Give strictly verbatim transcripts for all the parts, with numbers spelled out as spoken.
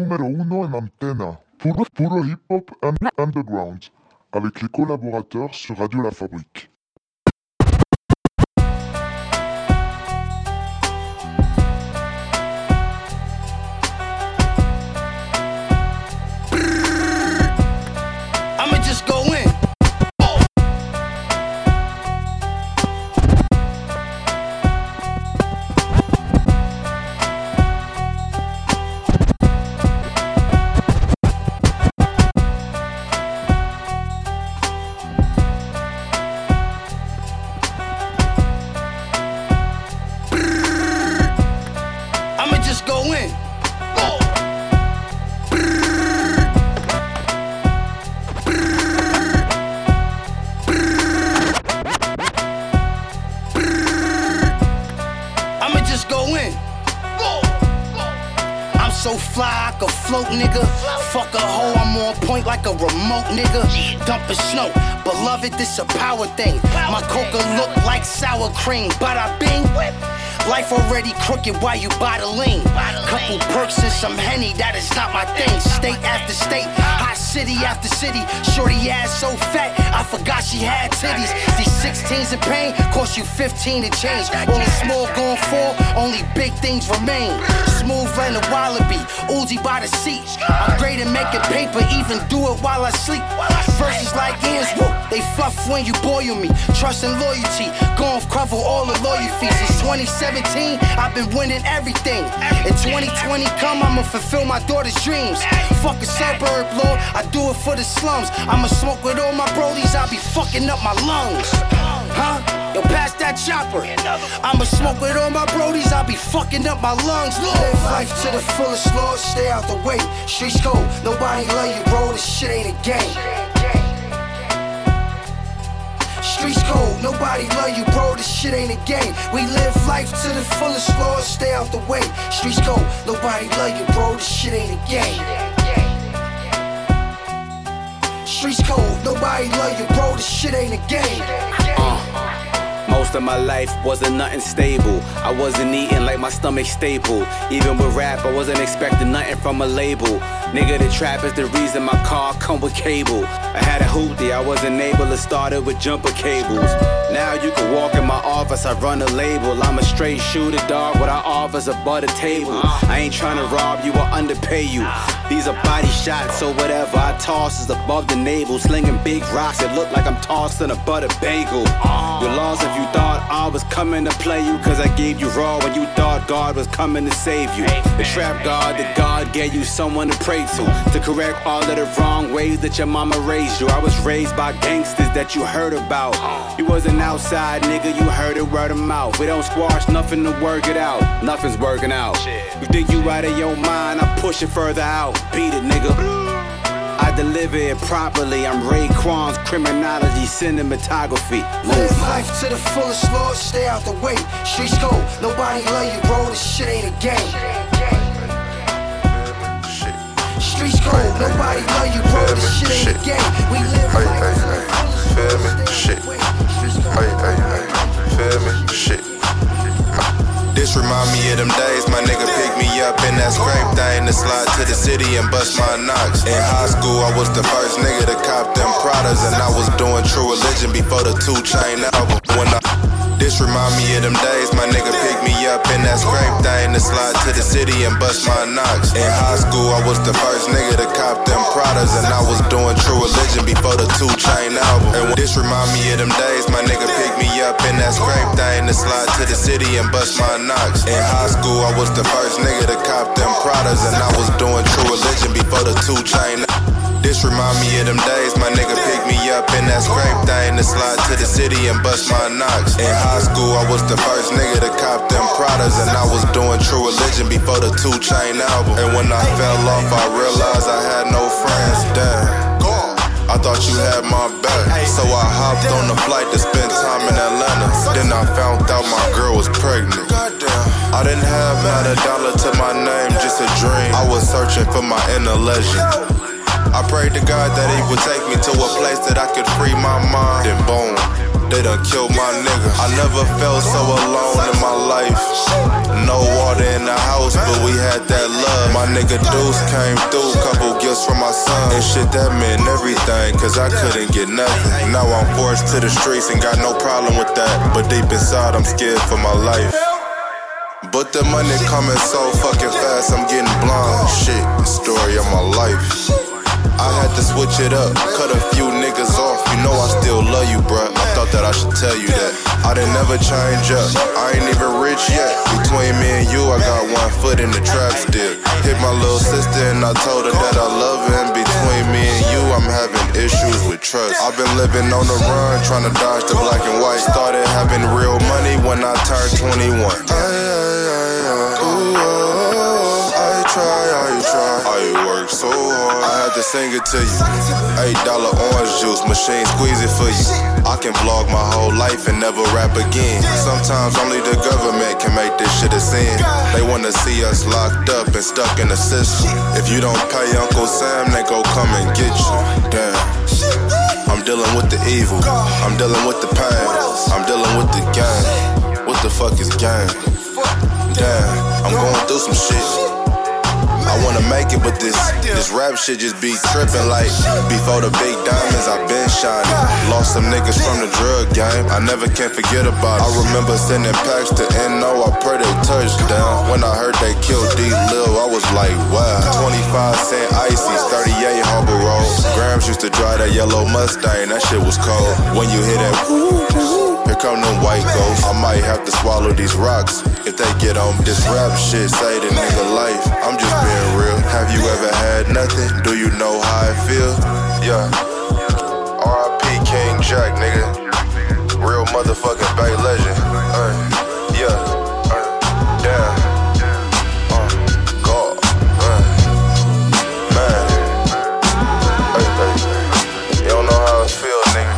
número uno en antena. Puro, puro hip-hop underground. Avec les collaborateurs sur Radio La Fabrique. I'ma just go in. I'ma just go in. I'ma just go in. I'm so fly, I can float, nigga. Fuck a hoe, I'm on point like a remote, nigga. Dumping snow, beloved, this a power thing. My coca look like sour cream, bada bing. Life already crooked while you buy the lean. Couple perks and some Henny, that is not my thing. State after state, hot city after city. Shorty ass so fat, I forgot she had titties. These sixteens in pain cost you fifteen to change. Only small going for, only big things remain. Smooth and a wallaby, Uzi by the seat. I'm great at making paper, even do it while I sleep. Verses like Ian's, woo, they fluff when you boil me. Trust and loyalty, gon' cover all the lawyer fees. Since twenty seventeen, I've been winning everything. In twenty twenty come, I'ma fulfill my daughter's dreams. Fuck a suburb, Lord, I do it for the slums. I'ma smoke with all my brodies, I'll be fucking up my lungs. Huh? Yo, pass that chopper. I'ma smoke with all my brodies, I'll be fucking up my lungs. Live life to the fullest, Lord, stay out the way. Streets cold, nobody love you, bro, this shit ain't a game. Streets cold, nobody love you, bro, this shit ain't a game. We live life to the fullest, Lord, stay out the way. Streets cold, nobody love you, bro, this shit ain't a game. Streets cold, nobody love you, bro, this shit ain't a game. Uh. Most of my life wasn't nothing stable. I wasn't eating like my stomach staple. Even with rap, I wasn't expecting nothing from a label. Nigga, the trap is the reason my car come with cable. I had a hoopty, I wasn't able to start it with jumper cables. Now you can walk in my office, I run a label. I'm a straight shooter, dog, what I offer's above the table. I ain't tryna rob you or underpay you. These are body shots or whatever I toss is above the navel. Slinging big rocks, it look like I'm tossing a butter bagel. You lost if you thought I was coming to play you, cause I gave you raw when you thought God was coming to save you. The trap God that God gave you someone to pray to, to correct all of the wrong ways that your mama raised you. I was raised by gangsters that you heard about. You wasn't outside, nigga, you heard it word of mouth. We don't squash nothing to work it out, nothing's working out. You think you out of your mind, I push it further out. Beat it, nigga. I deliver it properly. I'm Raekwon's criminology cinematography. Live life to the fullest, Lord, stay out the way. Streets cold, nobody love you, bro, this shit ain't a game. Streets cold, nobody love you, bro, this shit ain't a game. We live life to the fullest, feel me, shit. Hey, hey, hey, feel me, shit. This remind me of them days, my nigga picked me up in that scrape thing to slide to the city and bust my knocks. In high school, I was the first nigga to cop them Pradas, and I was doing True Religion before the two Chain album. When I This remind me of them days, my nigga picked me up in that scrape thing to slide to the city and bust my knocks. In high school, I was the first nigga to cop them Pradas, and I was doing True Religion before the two Chain album. And this remind me of them days, my nigga picked me up in that scrape thing to slide to the city and bust my knocks. In high school, I was the first nigga to cop them Pradas, and I was doing True Religion before the two Chain. This remind me of them days, my nigga picked me up in that scrape thing to slide to the city and bust my knocks. In high school, I was the first nigga to cop them Pradas, and I was doing True Religion before the two Chain album. And when I fell off, I realized I had no friends. Damn. I thought you had my back, so I hopped on the flight to spend time in Atlanta. Then I found out my girl was pregnant. I didn't have not a dollar to my name, just a dream. I was searching for my inner legend. I prayed to God that he would take me to a place that I could free my mind. Then boom, they done killed my nigga. I never felt so alone in my life. No water in the house, but we had that love. My nigga Deuce came through, couple gifts from my son. And shit, that meant everything, cause I couldn't get nothing. Now I'm forced to the streets and got no problem with that. But deep inside, I'm scared for my life. But the money coming so fucking fast, I'm getting blind. Shit, story of my life. I had to switch it up, cut a few niggas off. You know I still love you, bruh. I thought that I should tell you that. I didn't never change up, I ain't even rich yet. Between me and you, I got one foot in the trap still. Hit my little sister and I told her that I love her. And between me and you, I'm having issues with trust. I've been living on the run, trying to dodge the black and white. Started having real money when I turned twenty-one. Ay, ay, ay, ay, ooh, oh, I try, I try. I work so hard. I had to sing it to you. Eight dollar orange juice, machine squeeze it for you. I can vlog my whole life and never rap again. Sometimes only the government can make this shit a sin. They wanna see us locked up and stuck in the system. If you don't pay Uncle Sam, they go come and get you. Damn. I'm dealing with the evil. I'm dealing with the pain. I'm dealing with the gang. What the fuck is gang? Damn, I'm going through some shit. I wanna make it, but this this rap shit just be trippin' like before the big diamonds, I been shining. Lost some niggas from the drug game, I never can forget about it. I remember sending packs to N O, I pray they touchdown. When I heard they killed D-Lil, I was like, wow. twenty-five cent ices, thirty-eight Harbor Road. Grams used to drive that yellow Mustang, that shit was cold. When you hear that, here come them white ghosts. I might have to swallow these rocks if they get on this rap shit. Say the nigga life, I'm just being real. Have you ever had nothing? Do you know how it feel? Yeah. R I P King Jack, nigga. Real motherfucking Bay legend. Uh, yeah. Uh, damn. Uh, God. Uh, man. Hey, hey. You don't know how it feel, nigga.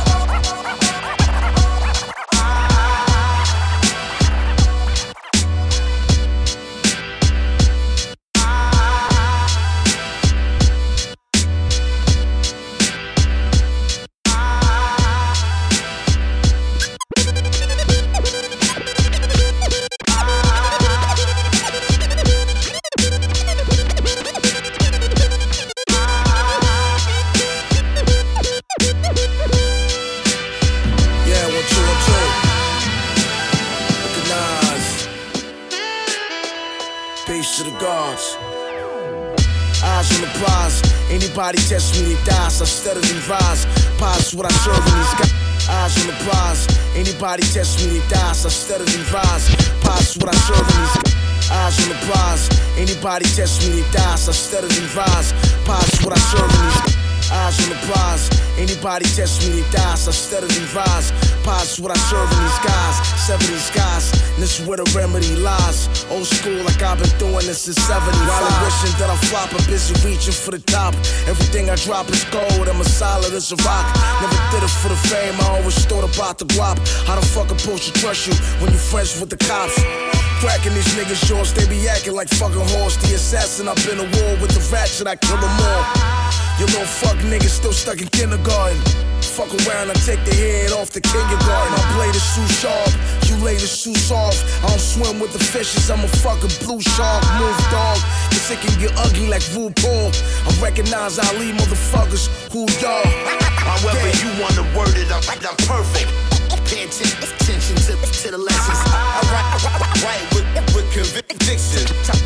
Anybody test me, they die, so I steadily rise. Pause what I serve in these guys. Eyes on the prize. Anybody test me, they die, so I steadily rise. Pause what I serve in these guys. Eyes on the prize. Anybody test me, they die, so I steadily rise. Pause what I serve in these guys. Eyes on the prize. Anybody test me, they die, so I steadily rise. Pause what I serve in these guys. Seven these guys, and this is where the remedy lies. Old school, like I've been doing this since seventy-five. While I'm wishing that I flop, I'm busy reaching for the top. Everything I drop is gold, I'm as solid as a rock. Never did it for the fame, I always thought about the guap. How the fuck I'm supposed to trust you when you friends with the cops? Cracking these niggas' jaws, they be acting like fucking horse. The assassin up in a war with the ratchet, I kill them all. Your little fuck niggas still stuck in kindergarten. Fuck around and take the head off the kindergarten. My blade is too sharp, you ladies too soft. I don't swim with the fishes, I'm a fucking blue shark. Move dog, cause it can get ugly like RuPaul. I recognize Ali motherfuckers, who y'all? However you wanna word it, I'm, I'm perfect. Pay attention to, to the lessons. I write, I write, I write with, with conviction.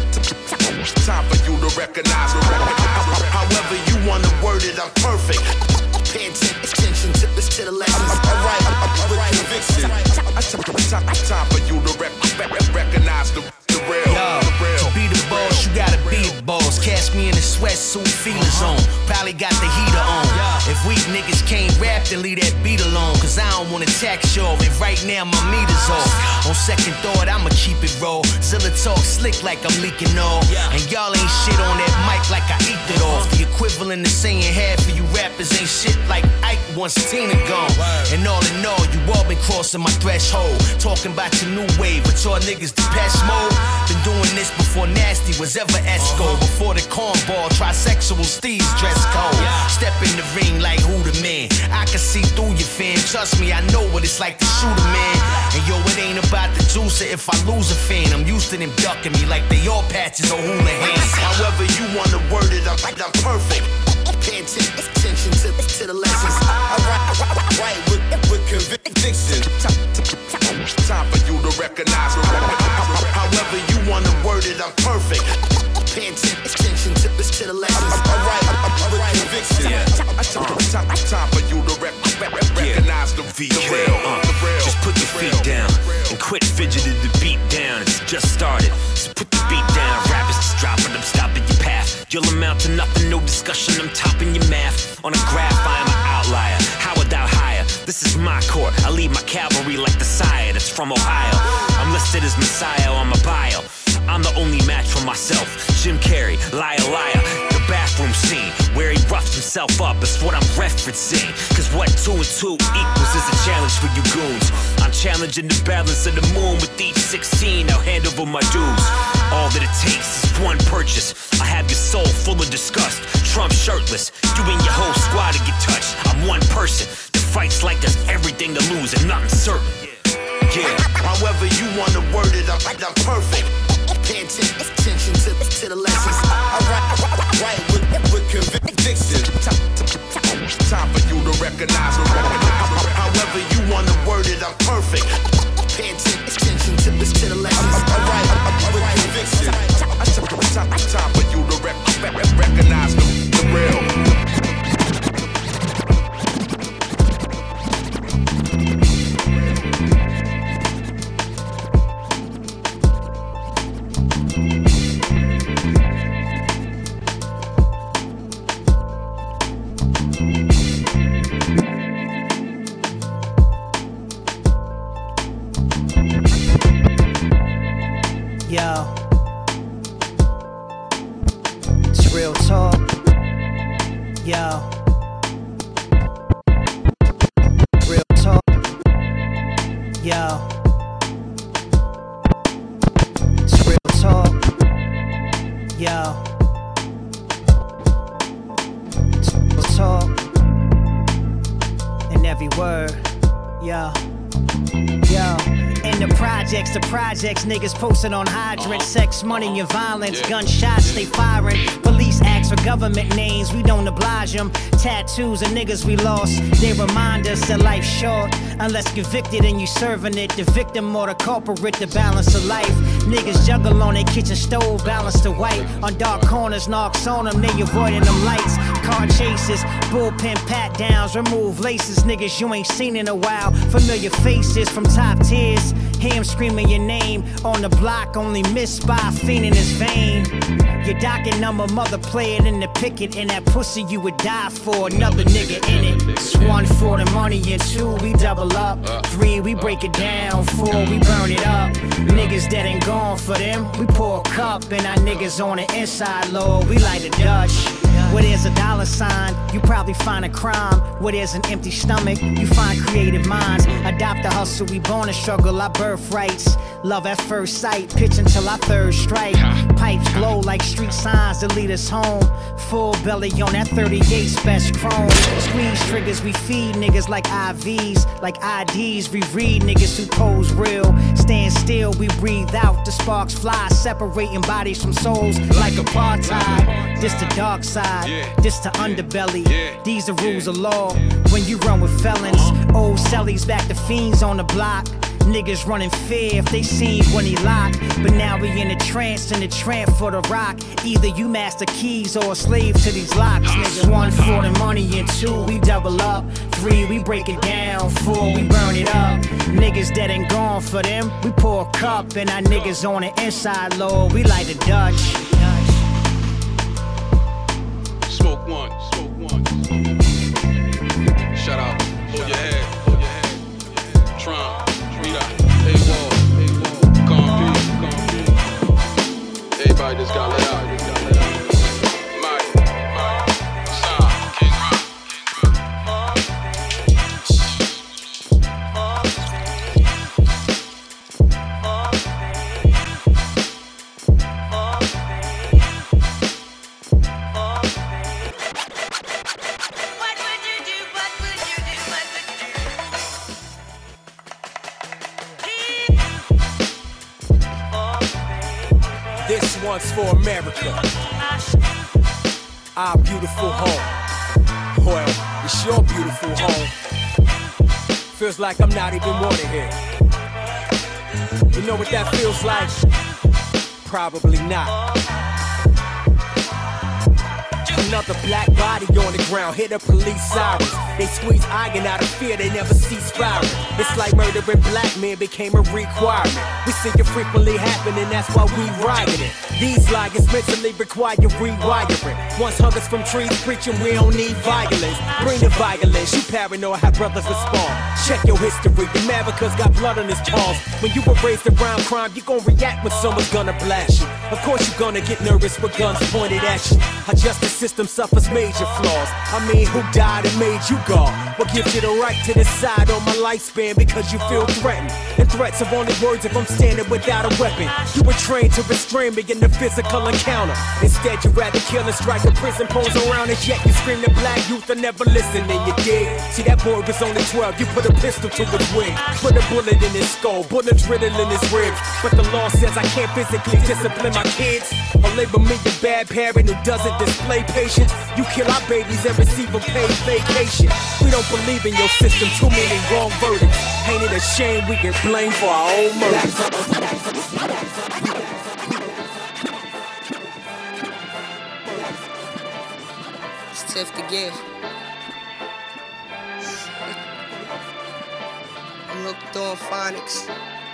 Time for you to recognize. However you wanna word it, I'm perfect. Pay attention to, to the lessons. I write, I write with conviction. Time for you to rec recognize the, the real. Yo, the real. To be the boss, you gotta be the boss. Catch me in the sweatsuit, feelers on. Probably got the heater on. If weak niggas can't rap, then leave that beat alone. Cause I don't wanna tax y'all, and right now my meter's off. On second thought, I'ma keep it raw. Zilla talk slick like I'm leaking off. And y'all ain't shit on that mic like I eat it off. The equivalent of saying half of you rap rappers ain't shit like Ike once Tina gone. And all in all, you all been crossing my threshold. Talking about your new wave, but y'all niggas Depeche Mode. Been doing this before Nasty was ever Esco. Before the cornball, trisexual Steve's dress code. Step in the ring like who the man. I can see through your fan. Trust me, I know what it's like to shoot a man. And yo, it ain't about the juicer if I lose a fan. I'm used to them ducking me like they all patches or hooligans. However you wanna word it, I'm, I'm perfect. Pay attention to, to the lessons. I write, I write with, with conviction. Time for you to recognize. However you wanna word it, I'm perfect. Pay attention to, to the lessons. I write, I write conviction. Time, time for you to rec recognize the, V K, the real. uh, The real. just put your feet down and quit fidgeting the beat down. It's just started, so put the beat down. Rappers just dropping, I'm stopping your path. You'll amount to nothing, no discussion, I'm topping your math. On a graph, I am an outlier, how without higher? This is my court, I lead my cavalry like the sire that's from Ohio. I'm listed as Messiah on my bio. I'm the only match for myself. Jim Carrey, liar, liar. The bathroom scene where he roughs himself up is what I'm referencing. Cause what two and two equals is a challenge for you goons. I'm challenging the balance of the moon with each sixteen. I'll hand over my dues. All that it takes is one purchase. I have your soul full of disgust. Trump shirtless. You and your whole squad to get touched. I'm one person that fights like there's everything to lose and nothing certain. Yeah. However you wanna word it, I'm, I'm perfect. Pay attention to, to the lessons. I write, I write with, with conviction. Time for you to recognize. However you wanna word it, I'm perfect. Pay attention to, to the lessons. I write, I write conviction. Time, time for you to rec recognize the, the real. Yo, it's real talk. Yo, real talk. Yo, it's real talk. Yo, it's real talk. In every word. Yo, yo. In the projects, the projects, niggas posted on hydrants, sex, money, and violence, gunshots, they firing. Police ask for government names, we don't oblige them. Tattoos of niggas we lost, they remind us that life's short. Unless convicted and you serving it, the victim or the culprit, the balance of life. Niggas juggle on their kitchen stove, balance to white. On dark corners, knocks on them, they avoiding them lights. Car chases, bullpen pat downs, remove laces. Niggas you ain't seen in a while, familiar faces from top tiers. Hear him screaming your name on the block, only missed by a fiend in his vein. Your docket number, mother play it in the picket, and that pussy you would die for, another nigga in it. It's one for the money, and two, we double up. Three, we break it down. Four, we burn it up. Niggas that ain't gone for them, we pour a cup, and our niggas on the inside, Lord, we light a Dutch. Where there's a dollar sign, you probably find a crime. Where there's an empty stomach, you find creative minds. Adopt the hustle, we born to struggle, our birthrights. Love at first sight, pitch until our third strike. Pipes glow like street signs that lead us home. Full belly on that thirty-eight's best chrome. Squeeze triggers, we feed niggas like I Vs. Like I Ds, we read niggas who pose real. Stand still, we breathe out, the sparks fly. Separating bodies from souls like apartheid. This the dark side, this the underbelly. These the rules of law when you run with felons. Old cellies back to fiends on the block. Niggas running fear if they seen when he locked. But now we in a trance, in a tramp for the rock. Either you master keys or a slave to these locks, nigga. One for the money and two, we double up. Three, we break it down. Four, we burn it up. Niggas that ain't gone for them, we pour a cup. And our niggas on the inside, Lord, we light a Dutch. Smoke one, smoke one. Shout out, hold your head, hold your head. Tron. A-Wall, A-Wall, everybody just got let out. Mike, Mike, Sean, King Rock, guns for America. Our beautiful home. Well, it's your beautiful home. Feels like I'm not even wanted here. You know what that feels like? Probably not. Another black body on the ground, hit the police sirens. They squeeze iron out of fear, they never cease firing. It's like murdering black men became a requirement. We see it frequently happening, that's why we riding it. These liars mentally require rewiring. Once hung us from trees preaching we don't need violence. Bring the violence, you paranoid how brothers respond. Check your history, America's got blood on his palms. When you were raised around crime, you gon' react when someone's gonna blast you. Of course you're gonna get nervous with guns pointed at you. Our justice system suffers major flaws. I mean, who died and made you God? What gives you the right to decide on my lifespan because you feel threatened? And threats are only words if I'm standing without a weapon. You were trained to restrain me in the physical encounter. Instead, you'd rather kill and strike a prison pose around us, yet you scream the black youth are never listening, you dig? See, that boy was only twelve, you put a pistol to his wing. Put a bullet in his skull, bullets riddling his ribs. But the law says I can't physically discipline my kids or label me a bad parent who doesn't display patience. You kill our babies and receive a paid vacation. We don't believe in your system, too many wrong verdicts. Ain't it a shame we get blamed for our own murders? It's tough to give. I'm hooked on phonics.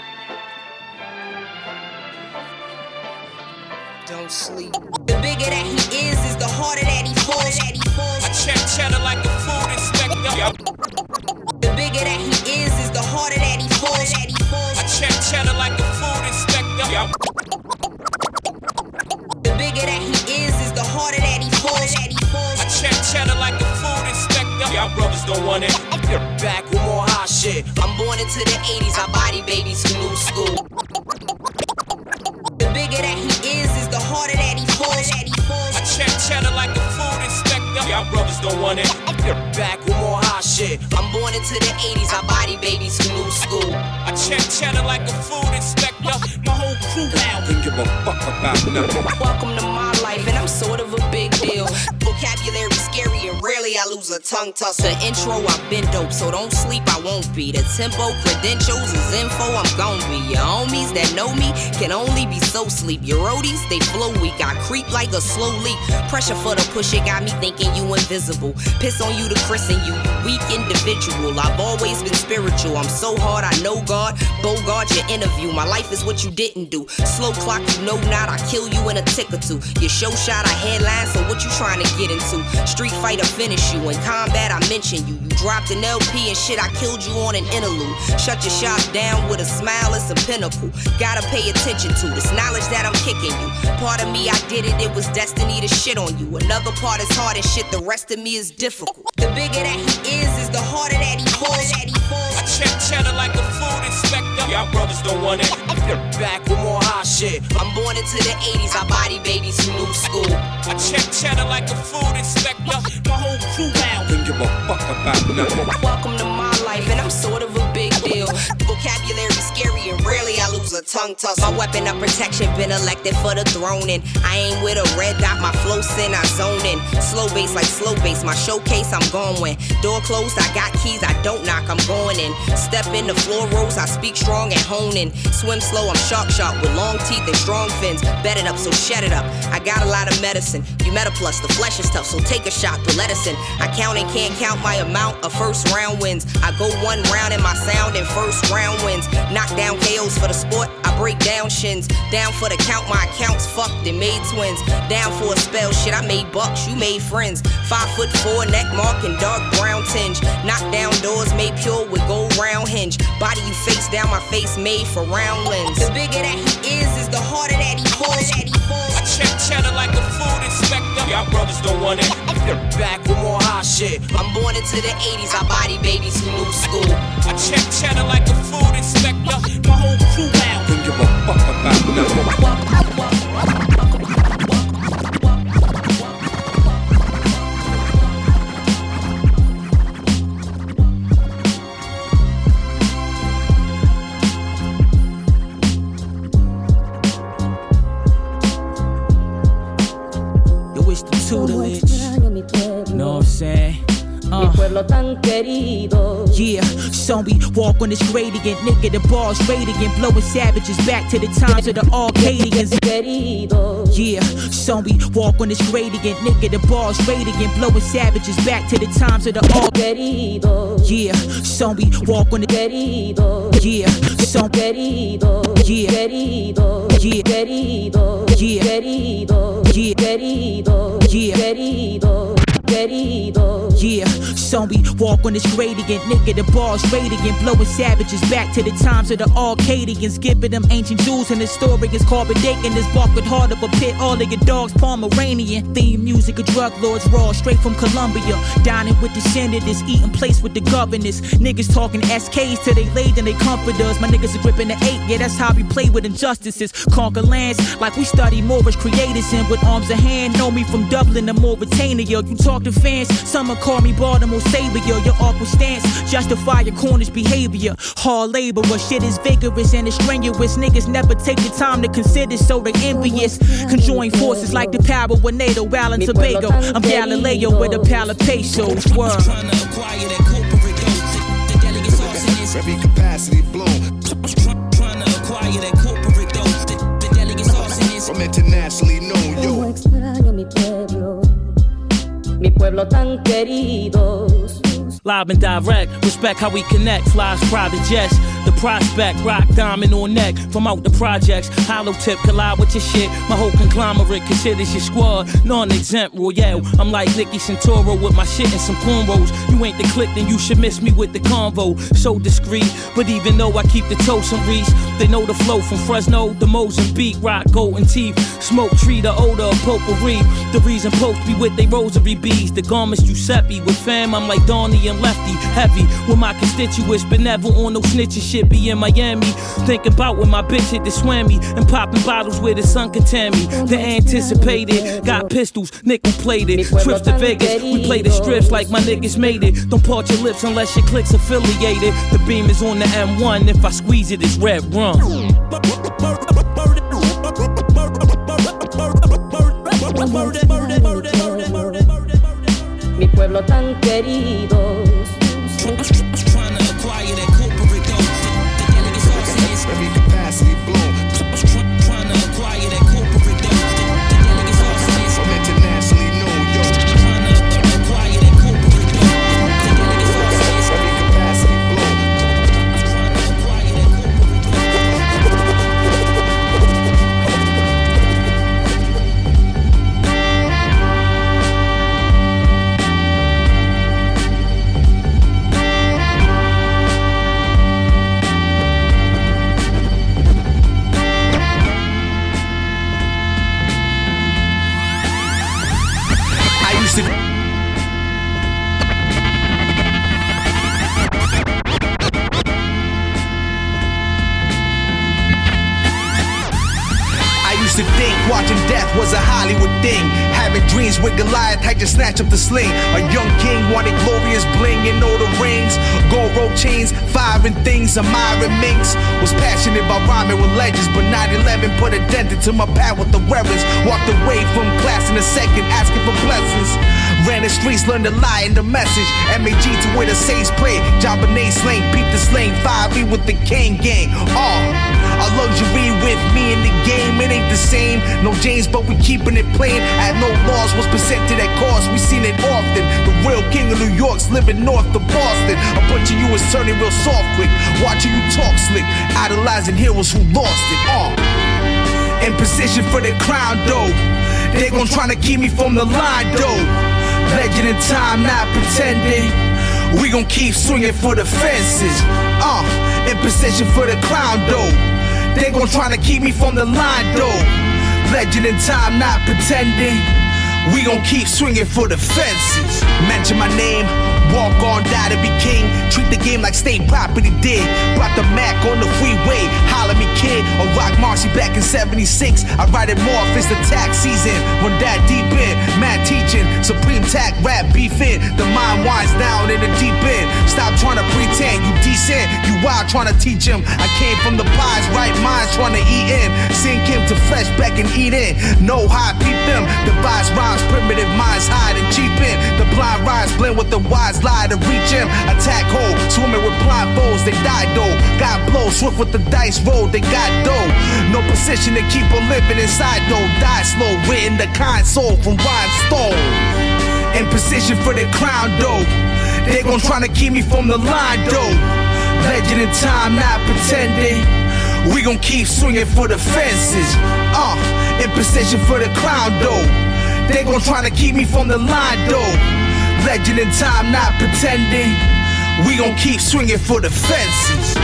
Don't sleep. The bigger that he is, is the harder that he falls. That he falls. I check cheddar like a food inspector. Yep. The bigger that he is, is the harder that he falls. That he falls. I check cheddar like a food inspector. Yep. The bigger that he is, is the harder that he falls. That he falls. I check cheddar like a food inspector. Y'all brothers don't want it. Back with more hot shit. I'm born into the eighties. I body babies from new school. The bigger that he is, is the harder that he falls. That he falls. I check cheddar like a food inspector. Y'all brothers don't want it. Back with more hot shit. I'm born into the eighties. I body babies from new school. I check cheddar like a food inspector. My whole crew out. Don't give a fuck about nothing. Welcome to my life, and I'm sort of a big deal. Vocabulary scary, and rarely I lose a tongue tussle. The intro, I've been dope, so don't sleep, I won't be. The tempo, credentials is info, I'm gon' be. Your homies that know me can only be so sleep. Your roadies, they flow weak. I creep like a slow leak. Pressure for the push, it got me thinking you invisible. Piss on you to christen you, weak individual. I've always been spiritual. I'm so hard, I know God. Bogart your interview. My life is what you didn't do. Slow clock, you know not. I kill you in a tick or two. Your show shot, I headline. So what you trying to get into? Street fighter finish you. In combat, I mention you. You dropped an L P and shit. I killed you on an interlude. Shut your shop down with a smile. It's a pinnacle. Gotta pay attention to this knowledge that I'm kicking you. Part of me, I did it. It was destiny to shit on you. Another part is hard as shit. The rest of me is difficult. The bigger that he is, is the harder that he falls. That he falls. I check cheddar like a food inspector. Y'all brothers don't want it. Back with more hot shit. I'm born into the eighties. I body babies from new school. I check cheddar like a food inspector. My whole crew out. Don't give a fuck about nothing. Welcome to my life, and I'm sort of a big deal. Vocabulary scary, and rarely I lose a tongue tussle. My weapon of protection been elected for the throne, and I ain't with a red dot. My flow sin, I zone in. Slow bass like slow bass. My showcase, I'm going when. Door closed, I got keys. I don't knock, I'm going in. Step in the floor rolls, I speak strong and hone in. Swim slow, I'm shark sharp with long teeth and strong fins. Bet it up, so shut it up. I got a lot of medicine. You met a plus, the flesh is tough, so take a shot, but let us in. I count and can't count my amount of first round wins. I go one round in my sound and first round wins. Knock down K Os for the sport, I break down shins. Down for the count, my accounts fucked and made twins. Down for a spell, shit, I made bucks, you made friends. Five foot four, neck mark and dark brown tinge. Knock down doors made pure with gold round hinge. Body you face down, my face made for round lens. The bigger that he is, is the harder that he falls. That he falls. I check cheddar like a food inspector. Y'all brothers don't want it. Back with more hot shit. I'm born into the eighties. I body babies from new school. I check cheddar like a food inspector. My whole crew out. Don't give a fuck about nothing. wish the tutelage. You know what I'm saying? Uh. Yeah, so we walk on this gradient, nigga, the ball's radiant, blowing savages back to the times of the Arcadians. Yeah, so we walk on this gradient, nigga, the ball's radiant, blowing savages back to the times of the Arcadians. Yeah, so we walk on the yeah, so yeah, yeah, yeah, yeah. Yeah, so we walk on this gradient, nigga, the ball's radiant, blowing savages back to the times of the Arcadians, giving them ancient jewels and historians, carbon dating this bark with heart of a pit, all of your dogs Pomeranian, theme music of drug lords, raw, straight from Colombia, dining with the senators, eating plates with the governors, niggas talking S Ks till they laid and they comforters, my niggas are gripping the eight, yeah, that's how we play with injustices, conquer lands like we study Moorish creators, and with arms in hand, know me from Dublin to Mauritania, you talk to fans, some will call me Baltimore Savior. Your awkward stance justify your cornish behavior. Hard labor, but shit is vigorous and it's strenuous. Niggas never take the time to consider, so they envious. Conjoin forces like the power with NATO, Al and Tobago. I'm Galileo with a pal of pesos. Word. Every capacity blown. Trying to acquire that corporate dose. The delegates arsonists. I'm internationally known, yo. Mi pueblo tan querido. Live and direct, respect how we connect. Flies private jets, the prospect, rock diamond on neck. From out the projects, hollow tip collide with your shit. My whole conglomerate considers your squad non-exempt royale. I'm like Nicky Santoro with my shit and some cornrows. You ain't the click, then you should miss me with the convo. So discreet, but even though I keep the toast and reach, they know the flow from Fresno to Mozambique. Rock golden teeth, smoke tree, the odor of potpourri. The reason popes be with they rosary beads. The garments Giuseppe with fam, I'm like Donnie and Lefty. Heavy with my constituents, but never on no snitching shit. Be in Miami, thinking about when my bitch hit the swammy and popping bottles where the sun can tan me. The anticipated, got pistols, nickel plated. Trips to Vegas, we play the strips like my niggas made it. Don't part your lips unless your click's affiliated. The beam is on the M one, if I squeeze it, it's red rum. Mi pueblo tan querido. Trying to acquire that corporate dose. The delegates arsonists. Every capacity blown. Trying to acquire that corporate dose. The delegates arsonists. I'm internationally known, yo. Trying to acquire that corporate dose. The delegates arsonists. Every capacity blown. Trying to acquire that corporate dose. To think watching death was a Hollywood thing. Having dreams with Goliath, I just snatched up the sling. A young king wanted glorious bling and all the rings. Gold rope chains, firing things. Admiring minks. Was passionate about rhyming with legends, but nine eleven put a dent into my path with the weapons. Walked away from class in a second, asking for blessings. Ran the streets, learned the lie and the message. M A G to where the Saints play. Jabba slang, beat the slang. five E with the Kane gang. Oh, a luxury with me in the game. It ain't the same. No James, but we keeping it plain. At no loss, what's presented at cost. We seen it often. The real king of New York's living north of Boston. A bunch of you is turning real soft quick. Watching you talk slick. Idolizing heroes who lost it. Oh, in position for the crown though. They gon' tryna keep me from the line though. Legend in time, not pretending. We gon' keep swinging for the fences. Uh, in position for the crown though. They gon' tryna keep me from the line though. Legend in time, not pretending. We gon' keep swinging for the fences. Mention my name, walk on, die to be king. Treat the game like state property did. Brought the Mac on the freeway, holla me kid. Or rock Marcy back in seventy-six. I ride it more if it's the tax season. Run that deep in, mad teaching. Supreme tack, rap beefing. The mind winds down in the deep end. Stop trying to pretend you decent. You wild trying to teach him. I came from the pies, right minds trying to eat in. Sink him to flesh back and eat in. No high, peep them. Devise rhymes, primitive minds hide and cheap in. The blind rise blend with the wise lie to reach him. Attack hole, swimming with blindfolds, they die though. Got blow, swift with the dice roll, they got dough. No position to keep on living inside though. Die slow, written the kind soul from rhinestone. In position for the crown though. They gon' tryna keep me from the line though. Legend in time, not pretending. We gon' keep swinging for the fences. Uh, in position for the crown though. They gon' tryna keep me from the line though. Legend in time, not pretending. We gon' keep swinging for the fences.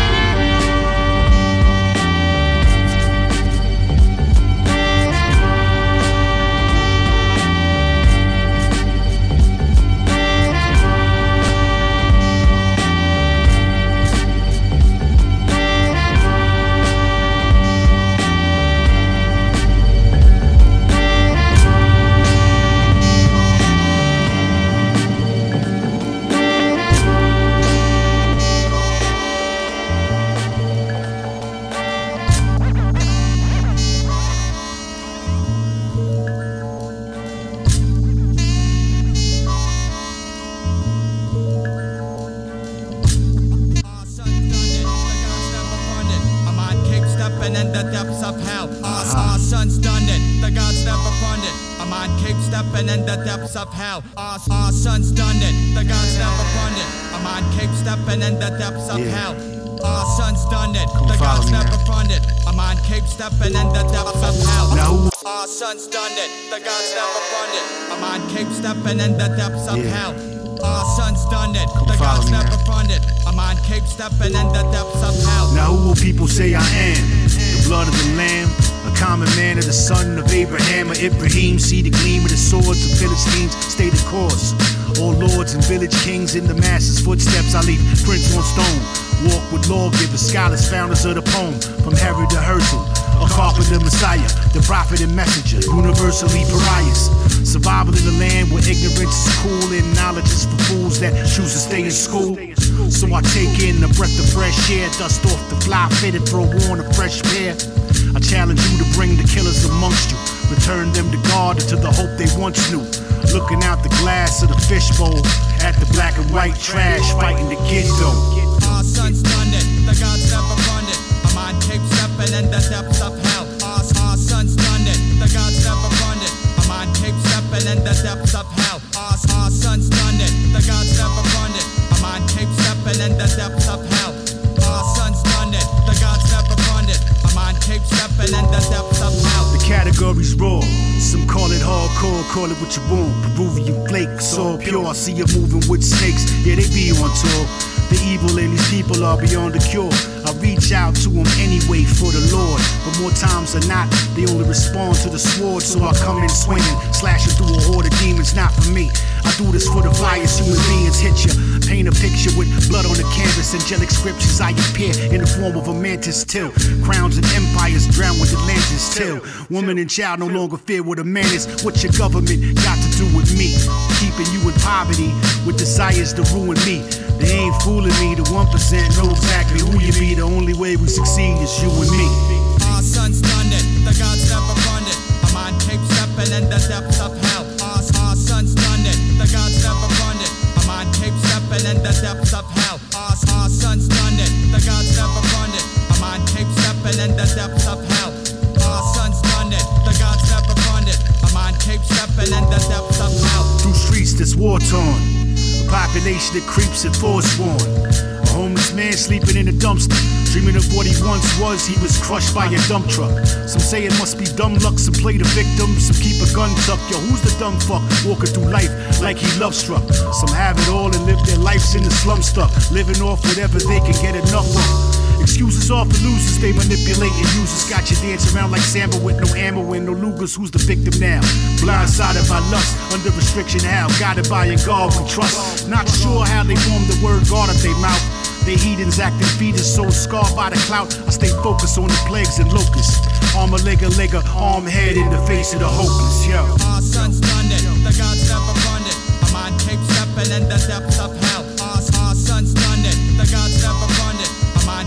Of hell, our, our son's done it. The gods never run it. I'm on Cape stepping in the depths of yeah. hell. Our son's done it. Come the gods never run it. I'm on Cape stepping in the depths of hell. No. Our son's done it. The gods never run it. I'm on Cape stepping in the depths of yeah. hell. Our son's done it. Come the gods never run it. I'm on Cape stepping in the depths of hell. Now who will people say I am? The blood of the lamb. A common man of the son of Abraham or Ibrahim. See the gleam of the swords of Philistines, stay the course. All lords and village kings in the masses' footsteps I leave prints on stone. Walk with lawgivers, scholars, founders of the poem. From Harry to Herzl, a carpenter messiah, the prophet and messenger, universally pariahs. Survival in the land where ignorance is cool and knowledge is for fools that choose to stay in school. So I take in the breath of fresh air, dust off the fly fitted, throw on a fresh pair. I challenge you to bring the killers amongst you, return them to God and to the hope they once knew. Looking out the glass of the fishbowl at the black and white trash, fighting to get though. Our son's done it, the gods never run it. I'm on Cape stepping in the depths of hell. Our, our son's done it, the gods never run it. I'm on Cape stepping in the depths of hell. Our, our son's done it, the gods never run it. I'm on Cape stepping in the depths of hell. Our son's done it, the gods never run it. I'm on Cape stepping in the depths of hell. The category's raw. Some call it hardcore, call it what you want. Peruvian flake, so pure. I see you moving with snakes, yeah, they be on tour. The evil in these people are beyond the cure. I reach out to them anyway for the Lord. But more times than not, they only respond to the sword. So I come in swinging, slashing through a horde of demons, not for me. I do this for the fires human beings hit you. Paint a picture with blood on the canvas, angelic scriptures. I appear in the form of a mantis till. Crowns and empires drown with Atlantis till. Woman and child no longer fear what a man is. What your government got to do with me? Keeping you in poverty with desires to ruin me. They ain't fooling me, the one percent know exactly who you be. The only way we succeed is you and me. Our son's done it, the gods never run it. I'm on Cape stepping in the depths of hell. Our, our son's done it, the gods never run it. I'm on Cape stepping in the depths of hell. Our, our son's done it, the gods never run it. I'm on Cape stepping in the depths of hell. Our son's done it, the gods never run it. I'm on Cape stepping in the depths of hell. Through streets that's war torn. Population that creeps and forsworn. A homeless man sleeping in a dumpster, dreaming of what he once was. He was crushed by a dump truck. Some say it must be dumb luck, some play the victim, some keep a gun tucked. Yo, who's the dumb fuck walking through life like he love struck? Some have it all and live their lives in the slum stuck, living off whatever they can get enough of. Excuses are for losers, they manipulate and users. Got you dancing around like Samba with no ammo and no Lugers. Who's the victim now? Blindsided by lust, under restriction how? Guided by a God we trust. Not sure how they form the word God up their mouth. They heathens acting fetus, so scarred by the clout. I stay focused on the plagues and locusts. Arm a leg a leg a arm head in the face of the hopeless, yo. Our son's done it, the gods never run it. I'm on Cape stepping in the depths of hell. Our, our son's done it, the gods never run it. I'm on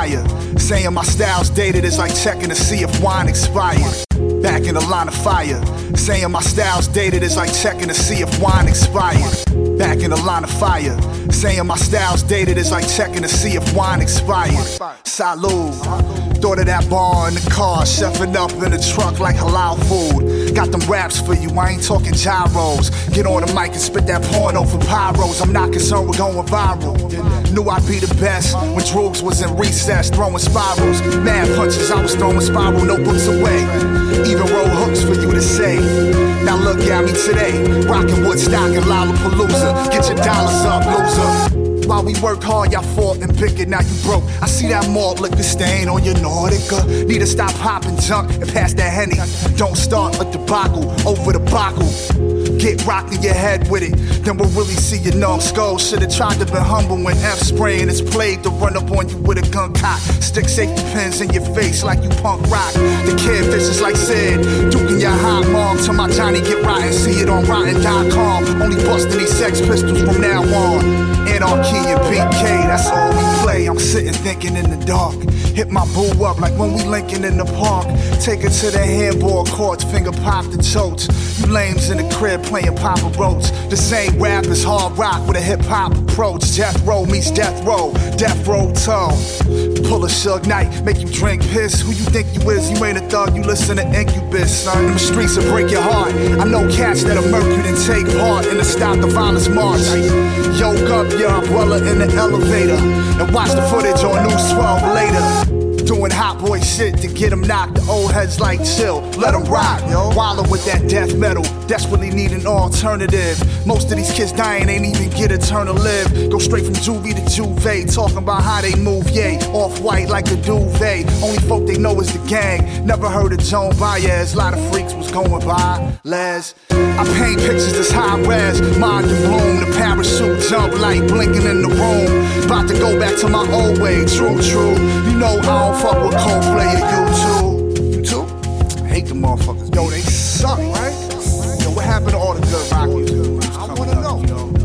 fire. Saying my style's dated is like checking to see if wine expired. Back in the line of fire. Saying my style's dated is like checking to see if wine expired. Back in the line of fire. Saying my style's dated is like checking to see if wine expired. Salud. Thought of that bar in the car, chefing up in the truck like halal food. Got them raps for you, I ain't talking gyros. Get on the mic and spit that porno for pyros. I'm not concerned with going viral. Knew I'd be the best when Droogs was in recess, throwing spirals. Mad punches, I was throwing spiral notebooks away. Even roll hooks for you to say. Now look at me today, rockin' Woodstock and Lollapalooza. Get your dollars up, loser. While we worked hard, y'all fought and picket, now you broke. I see that malt liquor stain on your Nordica. Need to stop popping junk and pass that Henny. Don't start a debacle over the debacle. Get rocked in your head with it, then we'll really see your numbskull. Should've tried to be humble when F spraying is played to run up on you with a gun cock. Stick safety pins in your face like you punk rock. The kid vicious like Sid, duking your hot mom till my Johnny get rotten. See it on rotten dot com. Only busting these Sex Pistols from now on. Anarchy and B K, that's all we play. I'm sitting thinking in the dark. Hit my boo up like when we linking in the park. Take her to the handball courts, finger pop the totes. You lames in the crib playing Papa Roach. The same rap as hard rock with a hip hop approach. Death Row meets Death Row, Death Row tone. Pull a Suge Knight, make you drink piss. Who you think you is? You ain't a thug, you listen to Incubus, son. Them streets will break your heart. I know cats that'll murk you and take part in the Stop the Violence March. Yoke up your umbrella in the elevator and watch the footage on News twelve later. Doing hot boy shit to get them knocked. The old heads like chill, let them rock, yo. Wallow with that death metal, desperately need an alternative. Most of these kids dying ain't even get a turn to live. Go straight from juvie to juve, talking about how they move, yay. Off-white like a duvet, only folk they know is the gang. Never heard of Joan Baez, lot of freaks was going by. Les, I paint pictures that's high res, mind and bloom. The parachute jump like blinking in the room. About to go back to my old way, true, true. You know I don't fuck with Coldplay or you too. You too? I hate the motherfuckers. Yo, they suck, right? Yo, what happened to all the good rock music? I wanna know.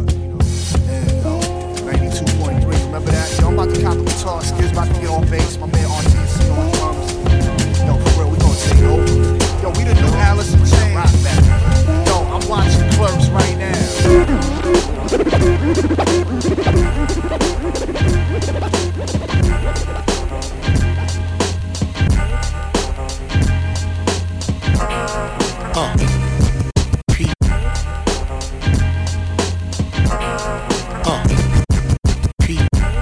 And, uh, ninety-two point three, remember that? Yo, I'm about to cop the guitar, Skids about to get on bass. My man R T C on drums. Yo, for real, we gonna take over. Yo, we the new Alice in Chains. Yo, I'm watching Clerks right now. Uh. P. Uh. P.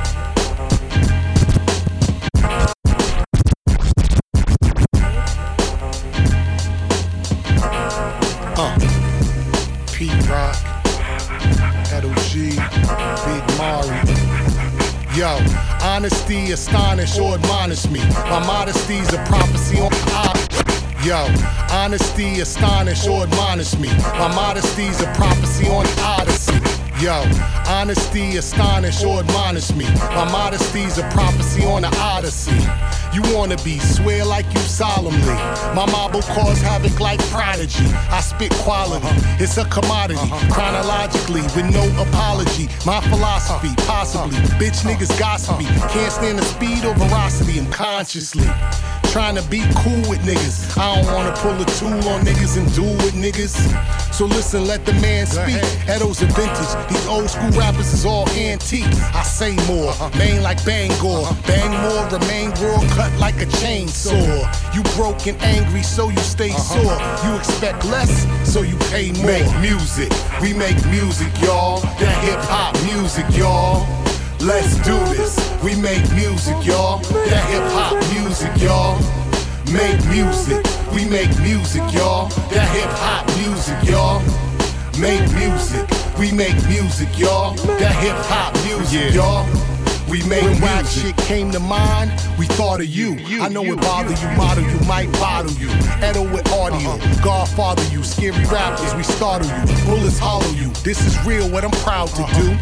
Uh. P. Rock. Edo G. Big Mari. Yo, honesty, astonish or admonish me. My modesty's a prophecy on I. Yo, honesty, astonish or admonish me. My modesty's a prophecy on Odyssey. Yo, honesty, astonish or admonish me. My modesty's a prophecy on the Odyssey. You wanna be, swear like you solemnly. My mob will cause havoc like Prodigy. I spit quality, it's a commodity. Chronologically, with no apology. My philosophy, possibly. Bitch niggas gossipy. Can't stand the speed or veracity. I'm consciously trying to be cool with niggas. I don't wanna pull a tool on niggas and duel with niggas. So listen, let the man speak. Edo's a vintage. These old school rappers is all antiques. I say more, main like Bangor. Bang more, remain raw, cut like a chainsaw. You broke and angry, so you stay sore. You expect less, so you pay more. Make music, we make music, y'all. That hip hop music, y'all. Let's do this. We make music, y'all. That hip hop music, y'all. Make music. We make music, y'all. That hip hop music, y'all. Make music. We make music, y'all. That hip hop music, y'all. We make when rap shit came to mind, we thought of you. you I know you, it bother you, you, model you, might bottle you. Edo with audio, uh-huh. Godfather you. Scary rappers, we startle you. Bullets hollow you. This is real, what I'm proud to uh-huh. do.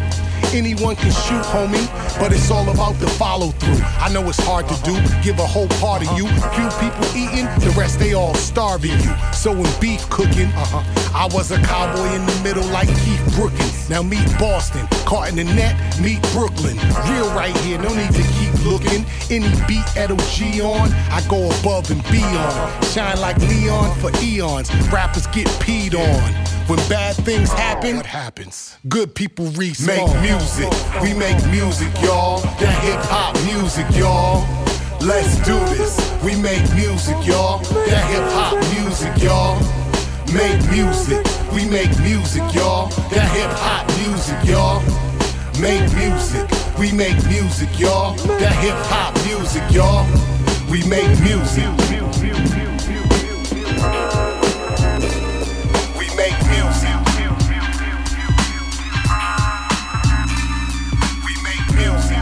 Anyone can shoot, homie, but it's all about the follow through. I know it's hard to do, give a whole part of you. Few people eating, the rest they all starving you. So when beef cooking, uh-huh, I was a cowboy in the middle like Keith Brookins. Now meet Boston, caught in the net, meet Brooklyn. Real right here, no need to keep looking. Any beat Ed O G on, I go above and beyond. Shine like neon for eons, rappers get peed on. When bad things happen, what happens? Good people respawn. Make music, we make music, y'all. That hip-hop music, y'all. Let's do this, we make music, y'all. That hip-hop music, y'all. Make music, we make music, y'all. That hip-hop music, y'all. Make music, we make music, y'all. That hip-hop music, y'all. We make music. We make music. We make music.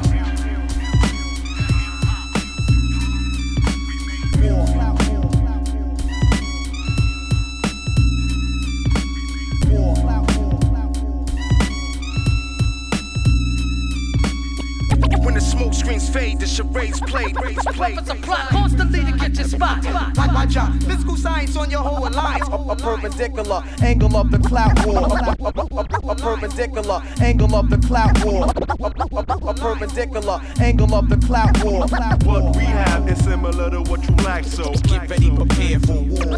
When the smoke screens fade, the charades played. Weapons apply constantly to get your spot. Watch out, physical science on your whole alliance. A, a perpendicular angle of the clout war. A, a, a, a perpendicular angle of the clout war. A, a, a perpendicular angle of the clout war. What we have is similar to what you lack, so get ready, prepare for war.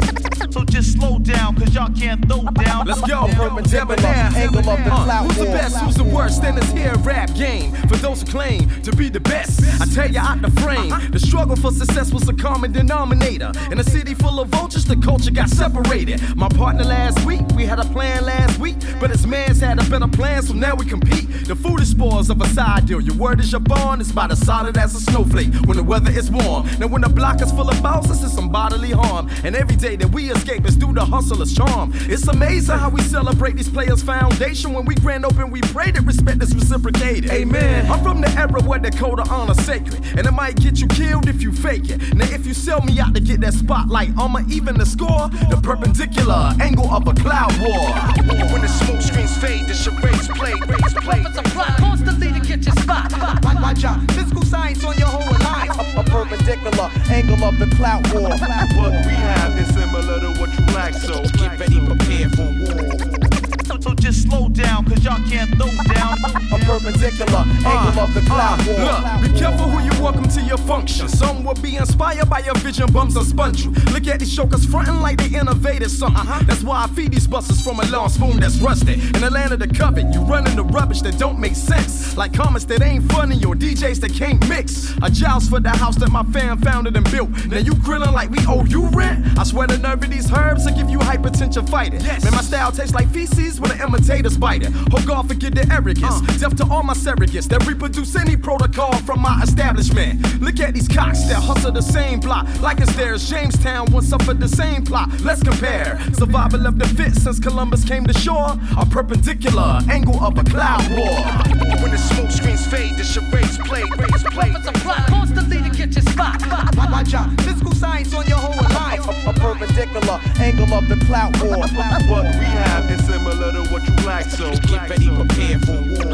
So just slow down, cause y'all can't throw down. Let's go, perpendicular angle of the clout war. Who's the best, who's the worst in this here rap game? For those who claim to be the best, I tell ya out the frame. The struggle for success was a common denominator. In a city full of vultures, the culture got separated. My partner last week, we had a plan last week, but his man's had a better plan, so now we compete. The food is spores of a side deal. Your word is your bond, it's about as solid as a snowflake when the weather is warm. Now when the block is full of bouncers, it's some bodily harm. And every day that we escape is through the hustler's charm. It's amazing how we celebrate these players' foundation. When we grand open, we pray that respect is reciprocated. Amen. I'm from the era where the code of honor sacred, and it might get you killed if you fake it. Now if you sell me out to get that spotlight, I'ma even the score. The perpendicular angle of a cloud war. When the smoke screens fade, the charades play. Weapons apply constantly to get your spot. Watch out, physical science on your whole alliance. A, a perpendicular angle of the clout war. What we have is similar to what you lack, so get ready, prepare for war. So, so just slow down, cause y'all can't throw down. A perpendicular angle uh, of the cloud uh, war. Look, be careful who you welcome to your function. Some will be inspired by your vision, bums or sponge you. Look at these jokers frontin' like they innovated something. Uh-huh. That's why I feed these busters from a long spoon that's rusted. In the land of the covet, you running the rubbish that don't make sense. Like comments that ain't funny or D Js that can't mix. A joust for the house that my fam founded and built. Now you grillin' like we owe you rent? I swear the nerve of these herbs will give you hypertension fighting. Yes. Man, my style tastes like feces when the imitators bite it. Oh God, forget the arrogance. Uh. Death to all my surrogates that reproduce any protocol from my establishment. Look at these cocks that hustle the same block. Like it's theirs. Jamestown once suffered the same plot. Let's compare. Survival of the fit since Columbus came to shore. A perpendicular angle of a cloud war. When the smoke screens fade, the charades play. Weapons apply constantly to get your spot. Watch out, physical science on your whole alliance. A, a perpendicular angle of the clout war. What we have is similar to what you lack, so get ready, prepare for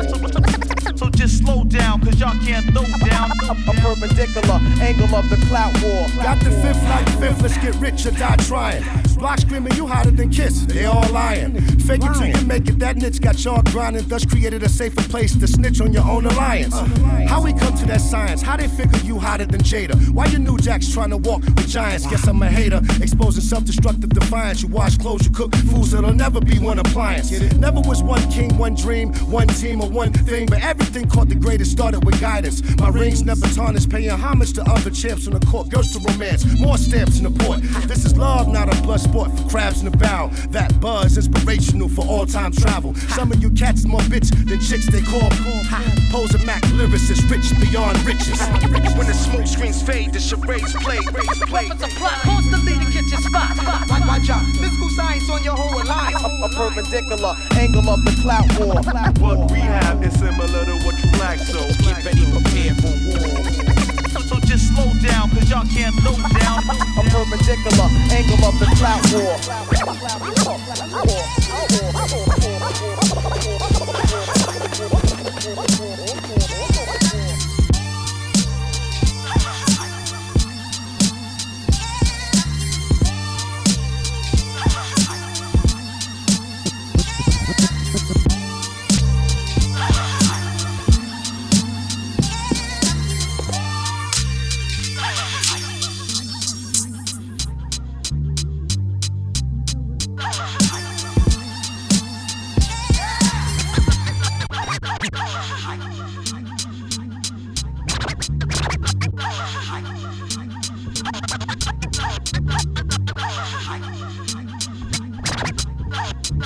war. So just slow down, cause y'all can't throw down. A, a perpendicular angle of the clout war. Got the fifth like fifth, let's get rich or die trying. Block screaming, you hotter than Kiss, they all lying. Fake it till you make it, that niche got y'all grinding, thus created a safer place to snitch on your own alliance. How we come to that science, how they figure you hotter than Jada? Why you new jacks trying to walk with giants? Guess I'm a hater, exposing self-destructive defiance. You wash clothes, you cook foods, it'll never be one appliance. Never was one king, one dream, one team, or one thing, but everything caught the greatest started with guidance. My rings never tarnished, paying homage to other champs on the court. Girls to romance, more stamps in the port. This is love, not a blood sport for crabs in the barrel. That buzz, inspirational for all-time travel. Some of you cats more bitch than chicks they call. Pose a Mac lyricist, rich beyond riches. When the smoke screens fade, the charades play. Weapons apply constantly to get your spot. Watch out, physical science on your whole alliance. A, a perpendicular angle of the clout war. What we have is similar to what you lack, so get ready, prepare for war. So, so just slow down, cause y'all can't throw down. A perpendicular angle of the clout war.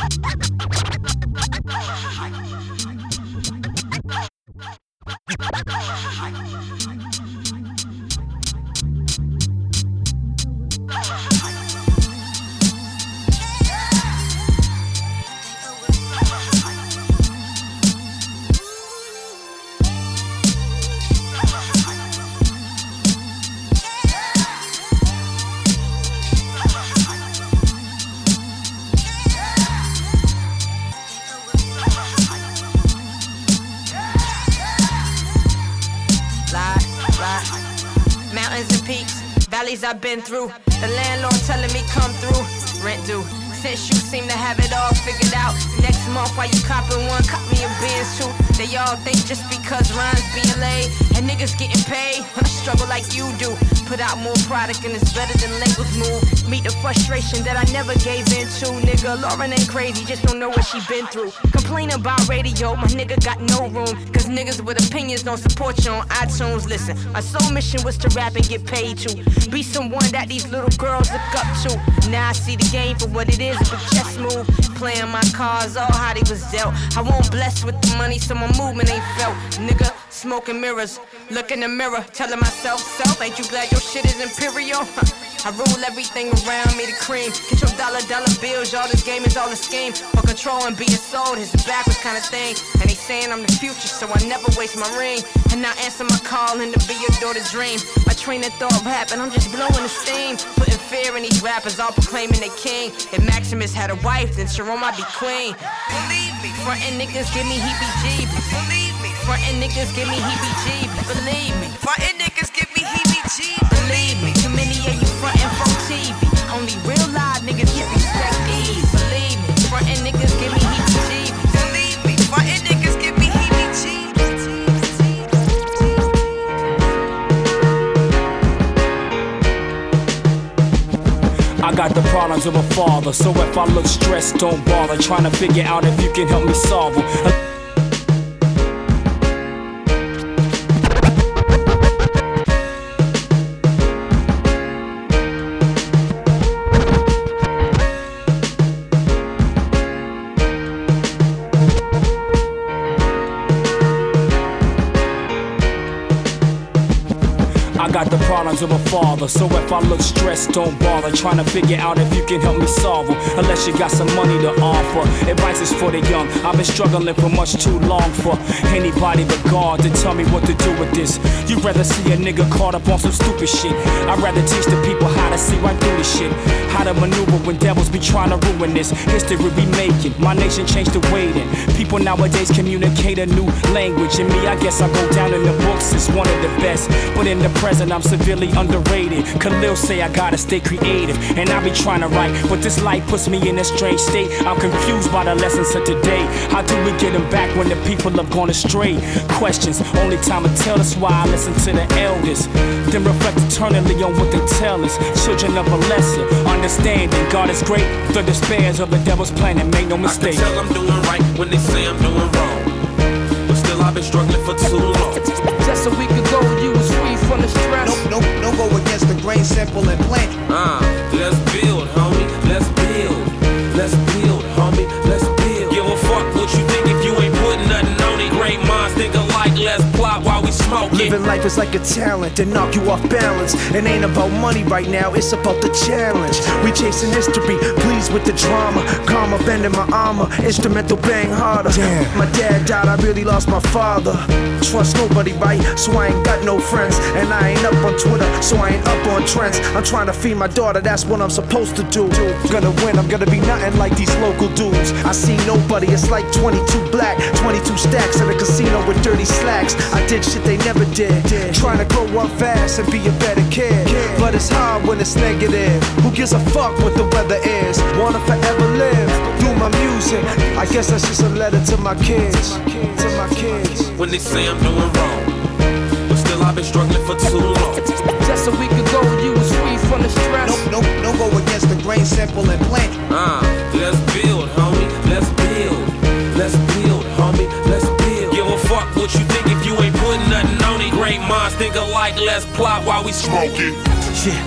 I've been through. The landlord telling me come through. Rent due. Since you seem to have it all figured out. Next month while you copping one, cop me a Benz too. They all think just because rhymes being laid and niggas getting paid, I struggle like you do. Put out more product and it's better than labels move. Meet the frustration that I never gave in to. Nigga, Lauren ain't crazy, just don't know what she been through. Complain about radio, my nigga got no room. Cause niggas with opinions don't support you on iTunes. Listen, my sole mission was to rap and get paid to. Be someone that these little girls look up to. Now I see the game for what it is, a big chess move. Playing my cards, all how they was dealt. I won't bless with the money, so my movement ain't felt. Nigga, smoking mirrors, look in the mirror, telling myself, self, ain't you glad your shit is imperial? I rule everything around me, the cream. Get your dollar, dollar bills, y'all, this game is all a scheme. For control and being sold, it's a backwards kind of thing. And they saying I'm the future, so I never waste my ring. And I answer my call and to be your daughter's dream. My train of thought rapping, I'm just blowing the steam. Putting fear in these rappers, all proclaiming they king. If Maximus had a wife, then Jerome I'd be queen. Believe me, frontin' niggas give me heebie-jeebies. Believe me, frontin' niggas give me heebie-jeebies. Believe me, frontin' niggas give me heebie-jeebies. Believe me, too many of you frontin' from T V. Only real live niggas get respect these. Believe me, frontin' niggas give me heebie-jeebies. Believe me, frontin' niggas give me heebie-jeebies. I got the problems of a father, so if I look stressed, don't bother trying to figure out if you can help me solve them. I got the problems of a father, so if I look stressed, don't bother trying to figure out if you can help me solve them. Unless you got some money to offer. Advice is for the young. I've been struggling for much too long for anybody but God to tell me what to do with this. You'd rather see a nigga caught up on some stupid shit. I'd rather teach the people how to see right through this shit. How to maneuver when devils be trying to ruin this. History we making. My nation changed the way then. People nowadays communicate a new language. And me, I guess I go down in the books as one of the best. But in the present, I'm severely underrated. Khalil say I gotta stay creative, and I be trying to write, but this life puts me in a strange state. I'm confused by the lessons of today. How do we get them back when the people have gone astray? Questions, only time will tell us why I listen to the elders. Then reflect eternally on what they tell us. Children of a lesser understanding. God is great, the despairs of the devil's planet, make no mistake. I can tell I'm doing right when they say I'm doing wrong, but still I've been struggling for too long. Just a week ago, you was free from the stress. No, no, no go against the grain, simple and plain. Uh, let's build, homie, let's build. Let's build, homie, let's build. Give a fuck what you think if you ain't putting nothing on it. Great minds think alike, let's plot while we smoke it. Living life is like a talent to knock you off balance. It ain't about money right now, it's about the challenge. We chasing history, pleased with the drama. Karma bending my armor, instrumental bang harder. Damn. My dad died, I really lost my father. Trust nobody, right? So I ain't got no friends. And I ain't up on Twitter, so I ain't up on trends. I'm trying to feed my daughter, that's what I'm supposed to do. Gonna win, I'm gonna be nothing like these local dudes. I see nobody, it's like twenty-two black, twenty-two stacks at a casino with dirty slacks. I did shit they never did. Trying to grow up fast and be a better kid. But it's hard when it's negative. Who gives a fuck what the weather is? Wanna forever live through my music. I guess that's just a letter to my kids. To my kids. When they say I'm doing wrong, but still I've been struggling for too long. Just a week ago, you was free from the stress. No, no, no go against the grain, simple and plain. Uh, let's build, homie, let's build. Let's build, homie, let's build. Give a fuck what you think if you ain't putting nothing on it. Great minds think alike, let's plot while we smoke it. Yeah.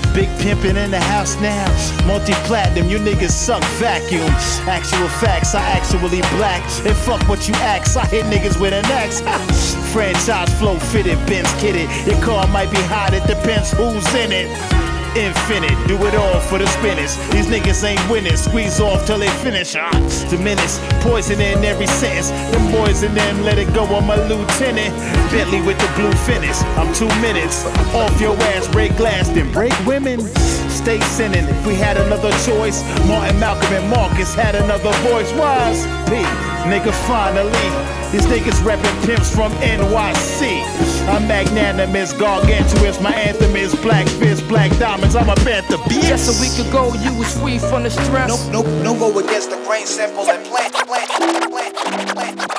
Big pimpin' in the house now. Multi-platinum, you niggas suck vacuum. Actual facts, I actually black. And fuck what you ask, I hit niggas with an axe. Franchise flow fitted, Benz kitted. Your car might be hot, it depends who's in it. Infinite, do it all for the spinners. These niggas ain't winning, squeeze off till they finish. Ah, diminish, poison in every sentence. Them boys and them let it go on my lieutenant. Bentley with the blue finish. I'm two minutes off your ass, break glass, then break women. Stay sinning. If we had another choice, Martin, Malcolm, and Marcus had another voice. Wise P, nigga, finally. These niggas reppin' pimps from N Y C. I'm magnanimous, gargantuous. My anthem is black fist, black diamonds. I'm a panther, bitch. Just a week ago, you was free from the stress. Nope, nope, no go against the grain, simple and plant, plant, plant, plant, plant, plant.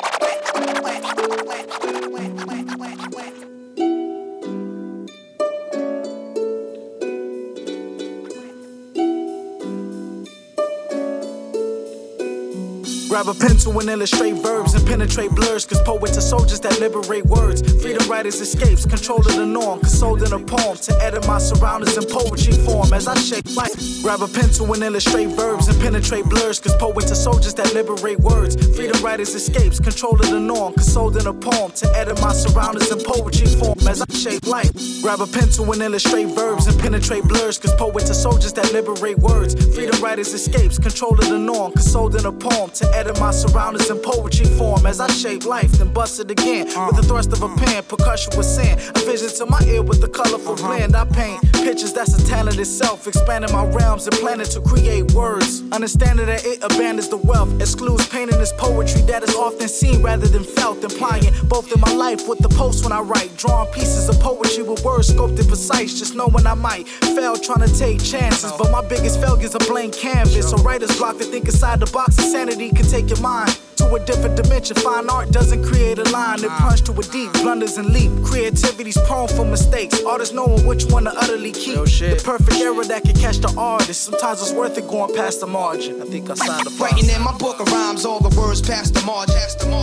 Grab a pencil and illustrate verbs and penetrate blurs. Cause poets are soldiers that liberate words. Freedom writers escapes, control of the norm. Consoled in a poem to edit my surroundings in poetry form as I shape life. Grab a pencil and illustrate verbs and penetrate blurs. Cause poets are soldiers that liberate words. Freedom writers escapes, control of the norm. Consoled in a poem to edit my surroundings in poetry form as I shape life. Grab a pencil and illustrate verbs and penetrate blurs. Cause poets are soldiers that liberate words. Freedom writers escapes, control of the norm. Consoled in a poem to edit my surroundings in poetry form as I shape life, then bust it again with the thrust of a pen, percussion with sand, a vision to my ear with the colorful blend. I paint pictures, that's a talent itself, expanding my realms and planning to create words, understanding that it abandons the wealth, excludes pain in this poetry that is often seen rather than felt, implying both in my life with the post when I write, drawing pieces of poetry with words scoped and precise, just knowing I might fail trying to take chances, but my biggest failure's a blank canvas, so writer's block to think inside the box, insanity can take your mind to a different dimension. Fine art doesn't create a line, it plunge to a deep, blunders and leap. Creativity's prone for mistakes, artists knowing which one to utterly keep. The perfect era that can catch the artist. Sometimes it's worth it going past the margin. I think I signed the Writing in my book of rhymes, all the words past the margin.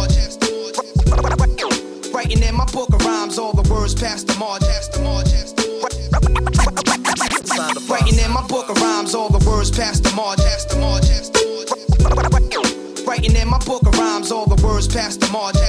Writing in my book of rhymes, all the words past the margin. Writing in my book of rhymes, all the words past the margin. Writing in my book of rhymes, all the words past the margin.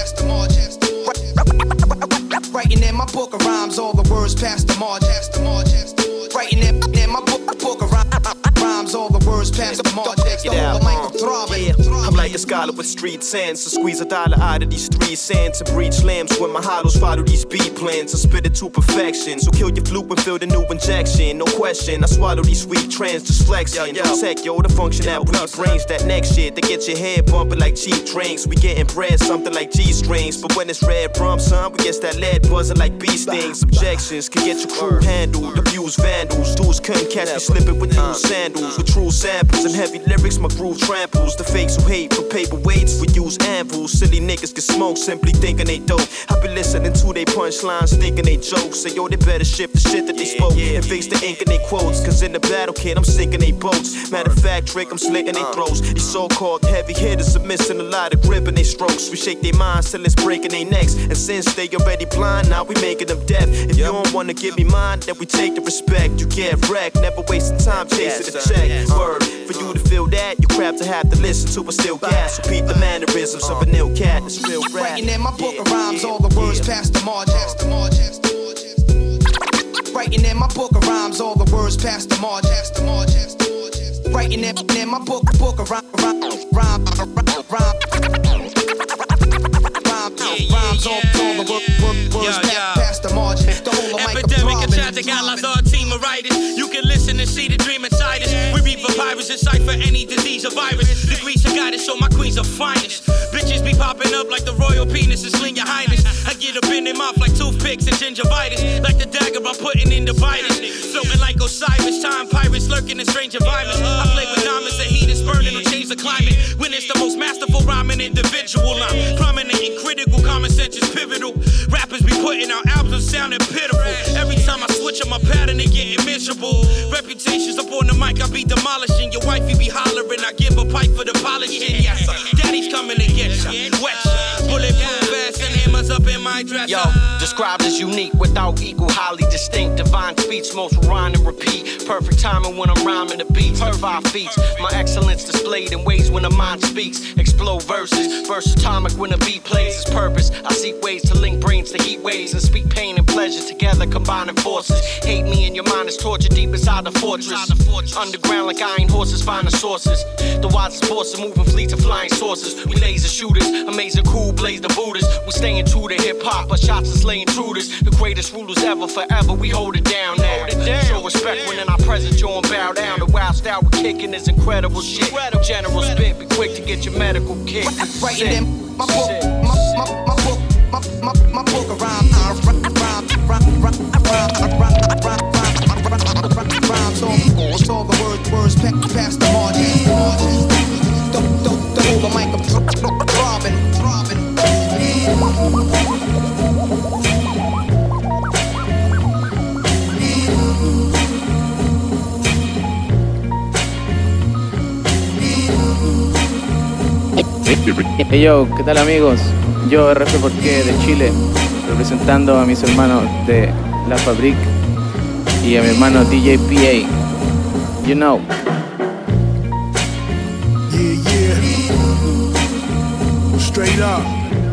Writing in my book of rhymes, all the words past the margin. Writing in my book, book of rhymes, all the words past the margin. Yeah, I'm like a scholar with street sense. So squeeze a dollar out of these three cents and breach lambs when my hollows follow these beat plans. I spit it to perfection. So kill your fluke and fill the new injection. No question, I swallow these sweet trends, just flexing. Protect yo, the function that weak brains, that next shit that gets your head bumping like cheap drinks. We getting bread, something like G strings. But when it's red rum, son, we get that lead buzzing like bee stings. Objections can get your crew handled. Abuse vandals, dudes couldn't catch me slipping with new sandals. With true samples and heavy lyrics, my groove tramples. The fakes who hate for paperweights, we use anvils. Silly niggas get smoke simply thinking they dope. I be listening to they punchlines, thinking they jokes. Say yo, they better shift the shit that they spoke and fix the ink in they quotes. Cause in the battle, kid, I'm sinking they boats. Matter of fact, trick, I'm slitting they throats. These so-called heavy hitters are missing a lot of grip in they strokes. We shake their minds till it's breaking their necks. And since they already blind, now we making them deaf. If you don't wanna give me mine, then we take the respect. You get wrecked, never wasting time chasing the check. Word, for you to feel that, you crap to have to listen to, but still gas. Repeat the mannerisms of an ill cat, it's real rap. Writing in my book of rhymes, all the words past the margin. Writing in my book of rhymes, all the words past the margin. Writing in, in my book, book of rhyme, rhyme, rhyme, rhyme, rhyme. Rhymes, all, all the words, words past, past the margin. The whole of Epidemic and tragic allies are a team of writers. You can listen and see the dream inside us. We read for pirates and cipher any disease or virus. Degrees of guidance, so my queens are finest. Bitches be popping up like the royal penis and sling your highness. I get up in their mouth like toothpicks and gingivitis. Like the dagger I'm putting in the virus. Floating like Osiris, time pirates lurking in strange environments. I play with diamonds, the heat is burning to change the climate. When it's the most masterful rhyming individual, I'm prominent and critical, common sense is pivotal. Rappers be putting out albums sounding pitiful. Every time I switch up my pattern, they getting miserable. Reputations up on the mic, I be demolishing. Your wifey be hollering, I give a pipe for the polishing. Yes, sir. Daddy's coming to get ya, wet ya. Bulletproof vests and hammers up in in my dresser. Yo, described as unique without equal, highly distinct. Divine speech, most rhyme and repeat. Perfect timing when I'm rhyming the beats. Five feet. My excellence displayed in ways when the mind speaks. Explode verses, versatile when the beat plays its purpose. I seek ways to link brains to heat waves and speak pain and pleasure together, combining forces. Hate me and your mind is torture deep inside the fortress. Underground like iron horses, find the sources. The wisest force of moving fleets of flying saucers. We laser shooters, amazing cool, blaze the Buddhas. We staying true to hip hop, but shots are slaying intruders. The greatest rulers ever, forever. We hold it down now. Show respect when in our presence, you don't bow down. The wild style we're kicking is incredible shit. General spit, be quick to get your medical kick. Writing in my book, my, my, my book, my, my, my book of rhyme, I rhyme, rhyme, rhyme, rhyme, rhymes all, all the words, words past the margin. Don't, don't, don't hold the mic up, throbbing, throbbing. Hey yo, ¿qué tal amigos? Yo R F Porqué de Chile, representando a mis hermanos de La Fabric y a mi hermano D J P A. You know. Yeah, yeah. Straight up.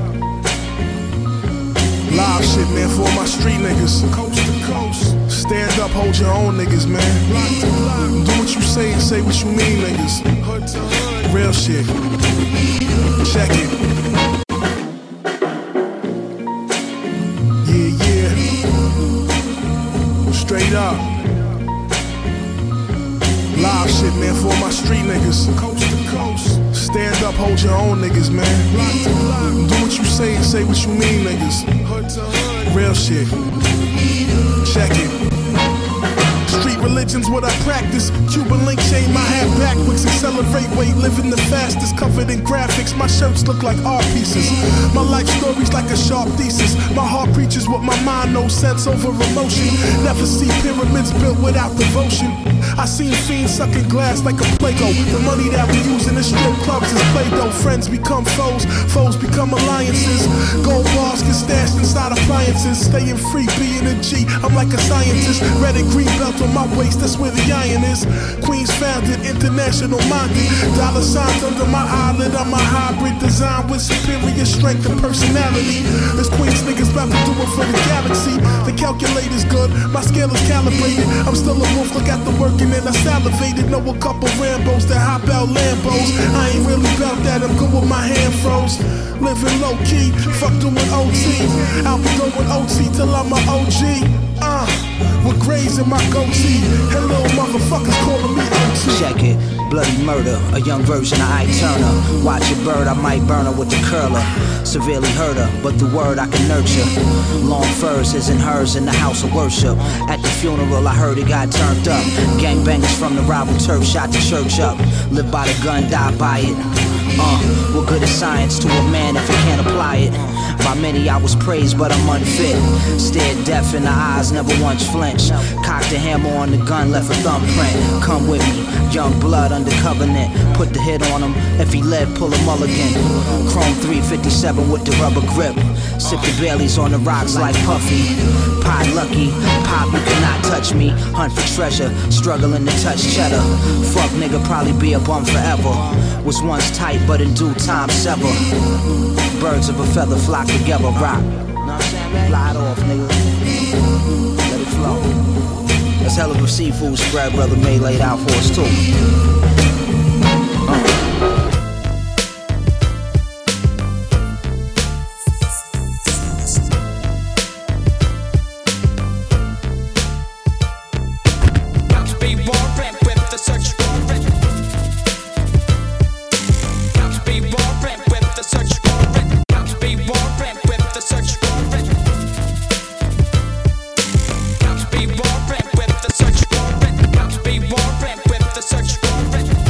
Live shit, man, for all my street niggas. Coast to coast. Stand up, hold your own niggas, man. Block to block. Do what you say and say what you mean, niggas. Hood to hood. Real shit. Check it. Yeah, yeah. Straight up. Live shit, man, for all my street niggas. Coast to coast. Stand up, hold your own niggas, man. Block to block. Do what you say and say what you mean, niggas. Hood to hood. Real shit. Check it. Street religion's what I practice. Cuban link chain, my hat backwards. Accelerate weight, living the fastest. Covered in graphics, my shirts look like art pieces. My life story's like a sharp thesis. My heart preaches what my mind knows, sense over emotion. Never see pyramids built without devotion. I seen fiends sucking glass like a Play-Doh. The money that we use in the strip clubs is Play-Doh. Friends become foes, foes become alliances. Gold bars get stashed inside appliances. Staying free, being a G, I'm like a scientist. Red and green belt on my waist, that's where the iron is. Queens founded, international minded. Dollar signs under my eyelid, I'm a hybrid design with superior strength and personality. This Queens niggas about to do it for the galaxy. The calculator's good, my scale is calibrated. I'm still a wolf, look at the work and then I salivated. Know a couple Rambos that hop out Lambos. I ain't really about that, I'm good with my hand froze. Living low key, fuck doing O T. I'll be going O T till I'm a O G. Uh, with grays in my goatee. Hello, motherfuckers calling me O T. Check it, bloody murder, a young version of Ike Turner. Watch a bird, I might burn her with the curler. Severely hurt her, but the word I can nurture. Long furs, his and hers in the house of worship. At the funeral, I heard it got turned up. Gangbangers from the rival turf shot the church up. Live by the gun, die by it. Uh, what good is science to a man if he can't apply it? By many I was praised, but I'm unfit. Stared deaf in the eyes, never once flinched. Cocked a hammer on the gun, left a thumbprint. Come with me, young blood under covenant. Put the hit on him, if he lived, pull a mulligan. Chrome three fifty-seven with the rubber grip. Sip the Baileys on the rocks like Puffy. Pie lucky, pop, you cannot touch me. Hunt for treasure, struggling to touch cheddar. Fuck nigga, probably be a bum forever. Was once tight, but in due time sever. Birds of a feather flock together, rock. Know what I'm saying, man? Fly it off, nigga. Let it flow. That's hell of a seafood spread, brother May laid out for us too. Uh. Search for it.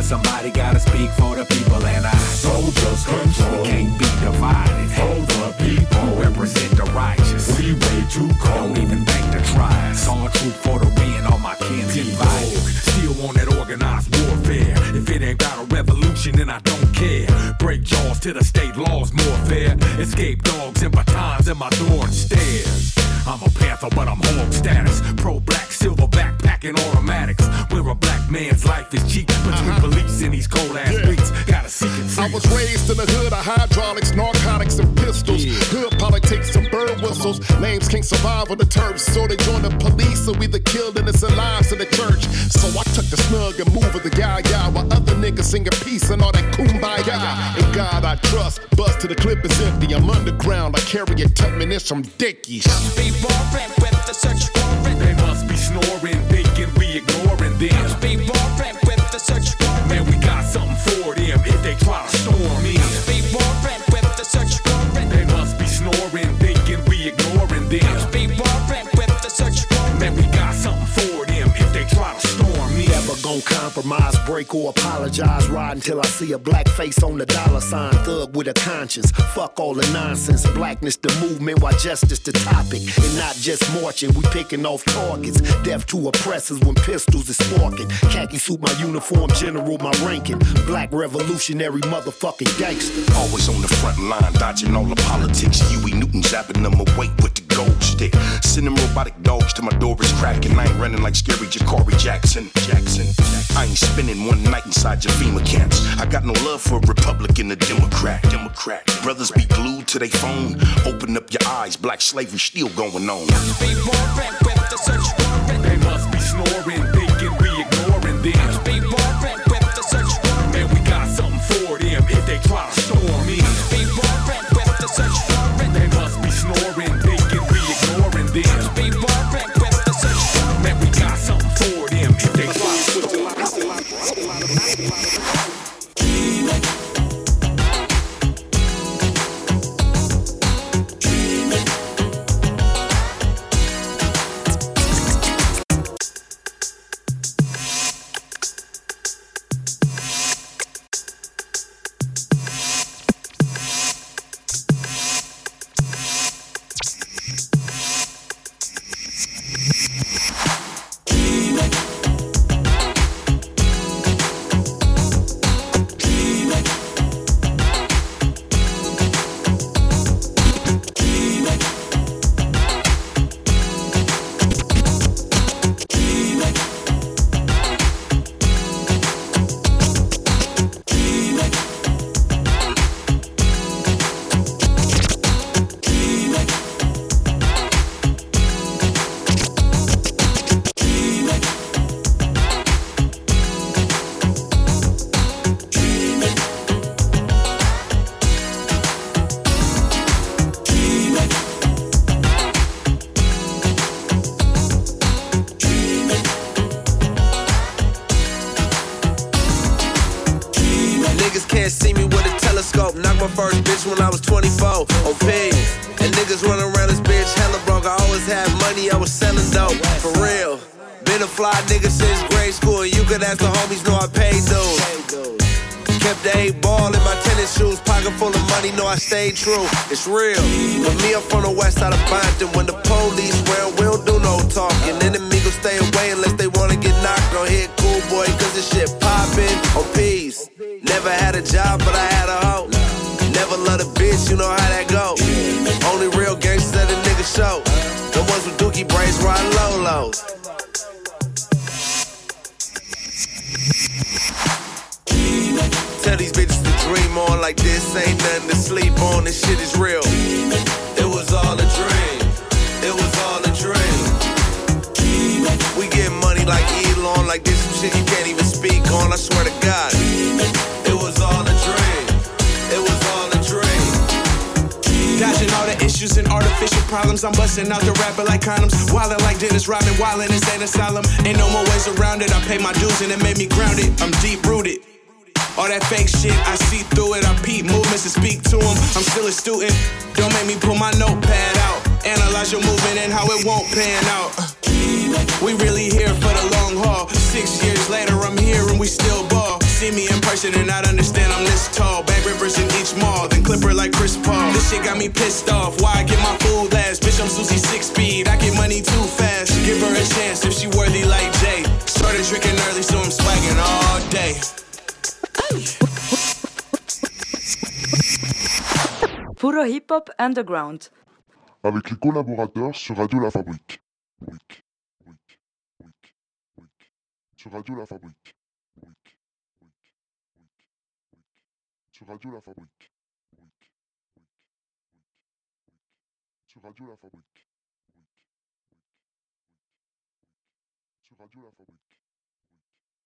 somebody gotta speak for the people, and I soldiers control. We can't be divided. For the people, represent the righteous. We way too cold. Don't even think to try. Saw truth for the win. All my kin divided. Still on that organized warfare. If it ain't about a revolution, then I don't care. Break jaws to the state laws more fair. Escape dogs and batons in my door and stairs. I'm a panther, but I'm hog status. Pro-black, silver backpacking automatics. Where a black man's life is cheap between uh-huh. police and these cold-ass yeah. beats. Gotta seek it free. I was raised in the hood of hydraulics, narcotics, and pistols. Yeah. Hood politics and bird whistles. Names can't survive on the turf, so they join the police. So we the killed innocent lives in the church. So I took the snug and move of the yah-yah while other niggas singing peace and all that kumbaya. In God I trust, bust till the clip is empty. I'm underground, I carry a Tubman and some dickies. Warrant with the search warrant. They must be snoring, thinking we ignoring them. Must be warrant with the search warrant. Man, we got something for them if they try to storm in. Must be warrant with the search warrant. They must be snoring, thinking we ignoring them. Must be warrant with the search warrant. Man, we got something for them if they try to storm in. Never gon' compromise, break or apologize. Ride until I see a black face on the dollar sign. Thug with a conscience, fuck all the nonsense. Blackness the movement, while justice the topic. And not just marching, we picking off targets. Death to oppressors when pistols is sparking. Khaki suit my uniform, general my ranking. Black revolutionary motherfucking gangster. Always on the front line, dodging all the politics. Huey Newton zapping them away with the gold stick. Sending robotic dogs to my door is cracking. I ain't running like scary Ja'Cory Jackson. Jackson. I ain't spending one night inside your FEMA camps. I got no love for a Republican or Democrat. Democrat. Brothers be glued to their phone. Open up your eyes, black slavery still going on. Must be warrant with the search warrant. They must be snoring, thinking we ignoring them. Must be warrant with the search warrant. Man, we got something for them if they try to storm in. Must be warrant with the search warrant. They must be snoring, thinking we ignoring them. Must be warrant with the search warrant. Man, we got something for them if they try to storm in. can't see me with a telescope. Knocked my first bitch when I was twenty-four. On pigs. And niggas running around this bitch hella broke. I always had money, I was selling dope. For real. Been a fly nigga since grade school. And you could ask the homies, know I paid dues. Kept the eight ball in my tennis shoes. Pocket full of money, know I stayed true. It's real. But me, I'm from the west side of Bompton. When the police round, we don't do no talking. Enemy gon' stay away unless they wanna get knocked. Don't hit cool boy, cause this shit poppin'. On peace. Never had a job, but I had a hoe. Never loved a bitch, you know how that go. Only real gangsters that a nigga show. The ones with dookie braids riding low-lows. Tell these bitches to dream on like this ain't nothing to sleep on. This shit is real. It was all a dream. It was all a dream. We get money like Elon, like this some shit you can't even speak on. I swear to God. It was all a dream. It was all a dream. Dodging all the issues and artificial problems. I'm busting out the rapper like condoms. Wildin' like Dennis Rodman, wildin' in state asylum. Ain't no more ways around it. I paid my dues and it made me grounded. I'm deep rooted. All that fake shit, I see through it. I peep movements and speak to them. I'm still a student. Don't make me pull my notepad out. Analyze your movement and how it won't pan out. We really here for the long haul. Six years later, I'm here and we still ball. see me in person and not understand I'm this tall. Bag rippers in each mall, then clipper like Chris Paul. This shit got me pissed off. Why I get my food last? Bitch, I'm Susie six speed. I get money too fast. Give her a chance if she worthy like Jay. Started drinking early, so I'm swagging all day. Puro Hip Hop Underground. Avec les collaborateurs sur Radio La Fabrique. Week, week, week, week. Sur Radio La Fabrique. Week, week, week, week. Sur Radio La Fabrique. Week, week, week, week. Sur Radio La Fabrique. Week, week, week, week. Sur Radio La Fabrique.